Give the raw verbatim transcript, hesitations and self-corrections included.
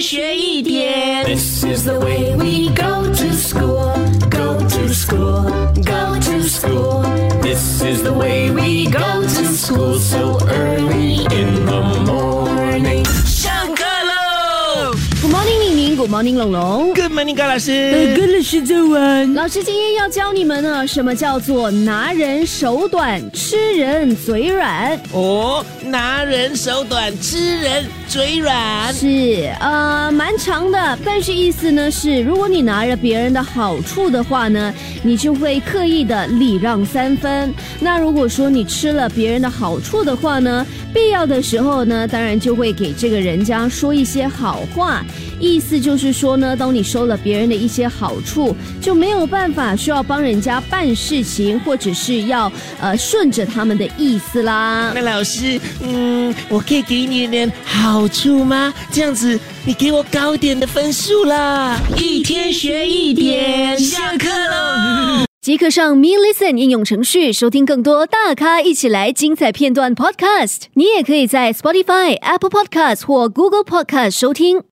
学一点。 This is the way we go to school, go to school, go to school. This is the way we go to school so early in the morning. 上课喽 Good morning， 宁宁 ，Good morning， 龙龙。 ！Good morning， 高老师。 呃，跟老师早安。老师今天要教你们呢，什么叫做拿人手短，吃人嘴软。 哦，拿人手短，吃人嘴软。 是，呃，蛮长的，但是意思呢是，如果你拿着别人的好处的话呢，你就会刻意的礼让三分。那如果说你吃了别人的好处的话呢，必要的时候呢，当然就会给这个人家说一些好话。意思就是说呢，当你收了别人的一些好处，就没有办法需要帮人家办事情，或者是要呃顺着他们的意思啦。 那老师，嗯，我可以给你一点好处吗？这样子你给我高点的分数啦。一天学一点，下课喽。 即刻上 Me Listen 应用程序收听更多大咖一起来精彩片段 Podcast。你也可以在 Spotify、Apple Podcast 或 Google Podcast 收听。